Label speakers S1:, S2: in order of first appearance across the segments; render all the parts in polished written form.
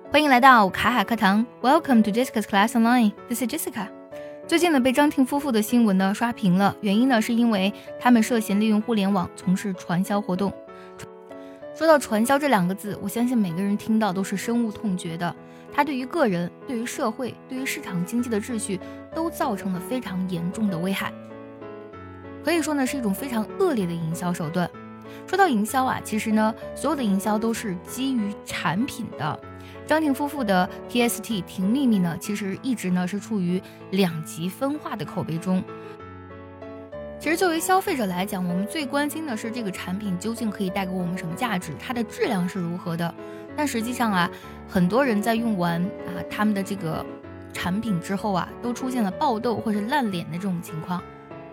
S1: 欢迎来到卡卡课堂 Welcome to Jessica's Class Online. This is Jessica. 最近呢，被张婷夫妇的新闻呢刷屏了，原因呢是因为他们涉嫌利用互联网从事传销活动。说到传销这两个字，我相信每个人听到都是深恶痛绝的。它对于个人、对于社会、对于市场经济的秩序都造成了非常严重的危害。可以说呢，是一种非常恶劣的营销手段。说到营销啊，其实呢，所有的营销都是基于产品的。张婷夫妇的 TST 停秘密呢，其实一直呢是处于两极分化的口碑中。其实作为消费者来讲，我们最关心的是这个产品究竟可以带给我们什么价值，它的质量是如何的。但实际上啊，很多人在用完他们的这个产品之后啊，都出现了爆痘或是烂脸的这种情况。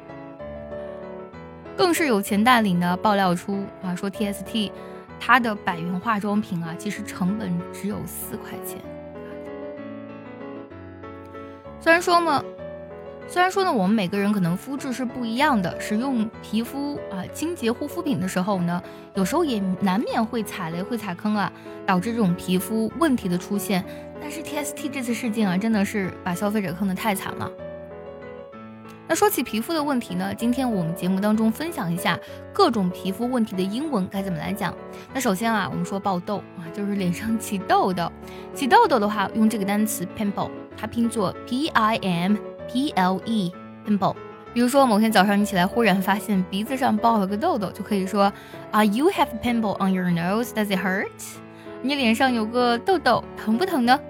S1: 更是有钱大领呢爆料出说 TST 它的100元化妆品啊，其实成本只有4块钱。虽然说呢，我们每个人可能肤质是不一样的，使用皮肤清洁护肤品的时候呢，有时候也难免会踩雷、会踩坑啊，导致这种皮肤问题的出现。但是 TST 这次事件啊，真的是把消费者坑得太惨了。那说起皮肤的问题呢，今天我们节目当中分享一下各种皮肤问题的英文该怎么来讲。那首先我们说爆痘就是脸上起痘痘。起痘痘的话，用这个单词 pimple， 它拼作 P-I-M-P-L-E pimple。比如说某天早上你起来忽然发现鼻子上爆了个痘痘，就可以说You have a pimple on your nose, does it hurt？ 你脸上有个痘痘，疼不疼呢？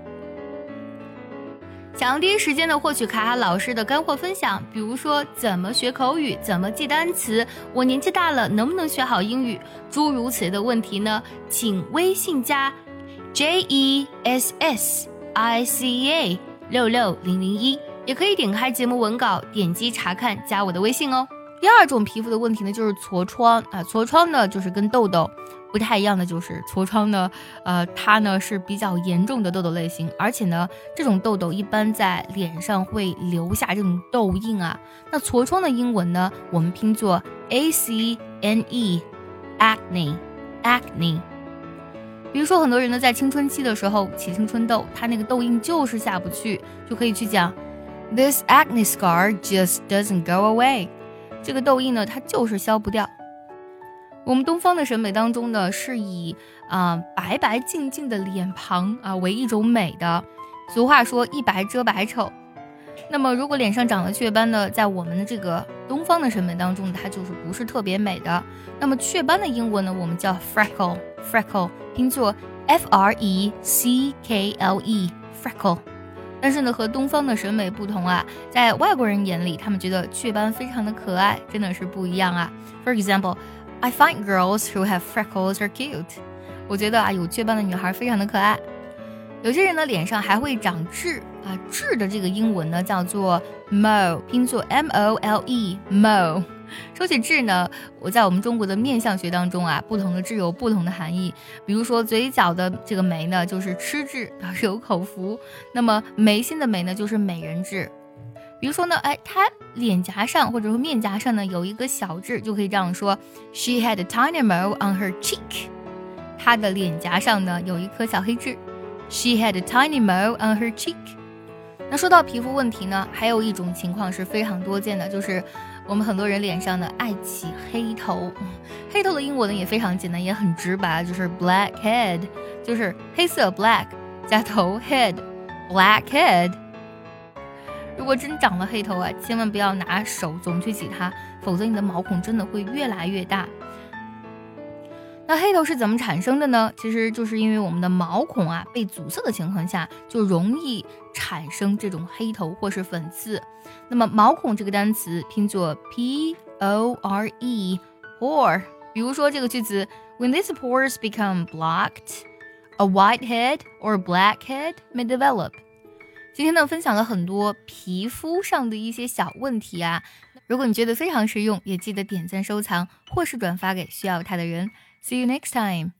S1: 想要第一时间的获取卡卡老师的干货分享，比如说怎么学口语，怎么记单词，我年纪大了能不能学好英语，诸如此类的问题呢，请微信加 JESSICA66001，也可以点开节目文稿点击查看，加我的微信哦。第二种皮肤的问题呢，就是痤疮痤疮呢就是跟痘痘不太一样的，就是痤疮呢它呢是比较严重的痘痘类型，而且呢这种痘痘一般在脸上会留下这种痘印啊。那痤疮的英文呢，我们拼作 ACNE acne。 比如说很多人呢在青春期的时候起青春痘，他那个痘印就是下不去，就可以去讲 This acne scar just doesn't go away。 这个痘印呢它就是消不掉。我们东方的审美当中呢，是以白白净净的脸庞为一种美的。俗话说一白遮百丑。那么如果脸上长了雀斑呢，在我们的这个东方的审美当中，它就是不是特别美的。那么雀斑的英文呢，我们叫 freckle， 拼作 F-R-E-C-K-L-E freckle。但是呢，和东方的审美不同在外国人眼里，他们觉得雀斑非常的可爱，真的是不一样For example，I find girls who have freckles are cute。 我觉得有雀斑的女孩非常的可爱。有些人呢脸上还会长痣痣的这个英文呢叫做 mole， 拼作 M-O-L-E mole。 说起痣呢，我在我们中国的面相学当中不同的痣有不同的含义。比如说嘴角的这个眉呢就是吃痣，表示有口福。那么眉心的眉呢就是美人痣。比如说呢她脸颊上或者说面颊上呢有一个小痣，就可以这样说 She had a tiny mole on her cheek。 她的脸颊上呢有一颗小黑痣 She had a tiny mole on her cheek。 那说到皮肤问题呢，还有一种情况是非常多见的，就是我们很多人脸上呢爱起黑头。黑头的英文呢也非常简单，也很直白，就是 blackhead， 就是黑色 black 加头 head blackhead。如果真长了黑头千万不要拿手总去挤它，否则你的毛孔真的会越来越大。那黑头是怎么产生的呢？其实就是因为我们的毛孔被阻塞的情况下，就容易产生这种黑头或是粉刺。那么毛孔这个单词拼作 P-O-R-E pore。 比如说这个句子 When these pores become blocked, a white head or black head may develop。今天呢，分享了很多皮肤上的一些小问题如果你觉得非常实用，也记得点赞收藏或是转发给需要它的人。See you next time.